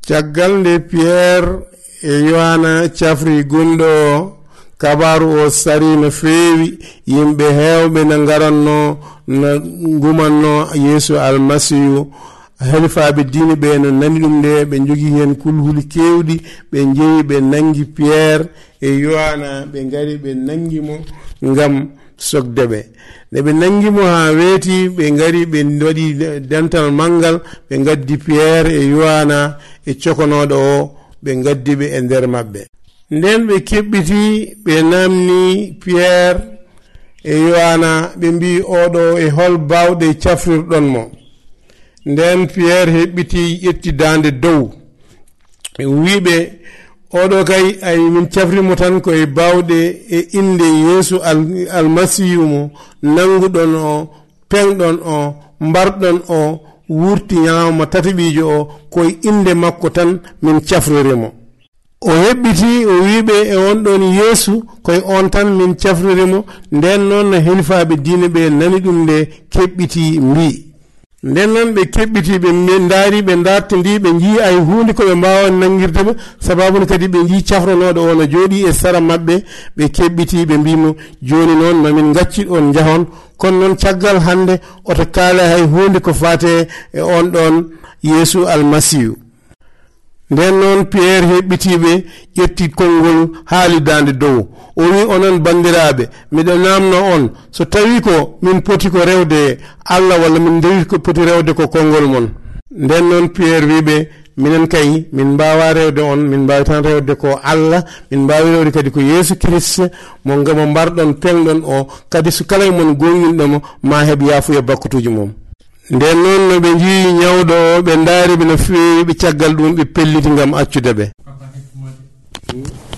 caggal nde Pierre e Yohana cafri gonɗo kabaru o sari no feewi yimɓe heewɓe ne ngaranno no gumanno Yeesu almasihu helifaɓe diine ɓe no nani ɗum nde ɓe jogii heen kulhuli kewɗi ɓe jeeyi ɓe nangi Pierre e Yohana ɓe ngari ɓe nangi mo ngam sogde ɓe nde ɓe nangi mo haa weeti ɓe ngari ɓe waɗi dental manngal ɓe ngaddi Pierre e Yohana e cokonoɗo o ɓe ngaddi ɓe e nder maɓɓe nden ɓe keɓɓiti ɓe namni Pierre e Yohana ɓe mbi oɗo e hol bawɗe cafrirɗon mo nden Pierre heɓɓiti ƴetti dande dow wiɓe oɗo kay ay min cafrimo tan koye bawɗe e inde Yeesu almasihu mo nanguɗon o pengɗon o mbarɗon o wurti ñaama tataɓijo o koye inde makko tan min cafririmo o heɓɓiti o wiɓe e on ɗon Yeesu koye on tan min cafririmo nden noon no helifaɓe diine ɓe nani ɗum nde keɓɓiti mbi nden noon ɓe keɓɓiti ɓe ndaari ɓe dartindi ɓe jii ay hunde koɓe mbawa nangirde ɓe sababune kadi ɓe jii cafranoɗo o no jooɗi e sara maɓɓe ɓe keɓɓiti ɓe mbimo joni noon mamin gaccit on jahon kono noon caggal hande oto kaala hay hunde ko fate e on ɗon Yeesu almasihu nden noon Pierre heɓɓitiɓe ƴetti konngol haalidande dow o wi onon bandiraɓe miɗo namno on so tawi ko min poti ko rewde Allah walla min dewi ko poti rewde ko konngol mon nden noon Pierre wiɓe minen kay min mbawa rewde on min mbawi tan rewde ko Allah min mbawi rewde kadi ko Yeesu Christ mo ngamo mbarɗon pengɗon o kadi so kala mon gonginɗomo ma heɓ yaafuya bakkutuji mum nden noon no ɓe jii ñawɗo o ɓe ndaari ɓe no feewi ɓe caggal ɗum ɓe pelliti ngam accude ɓe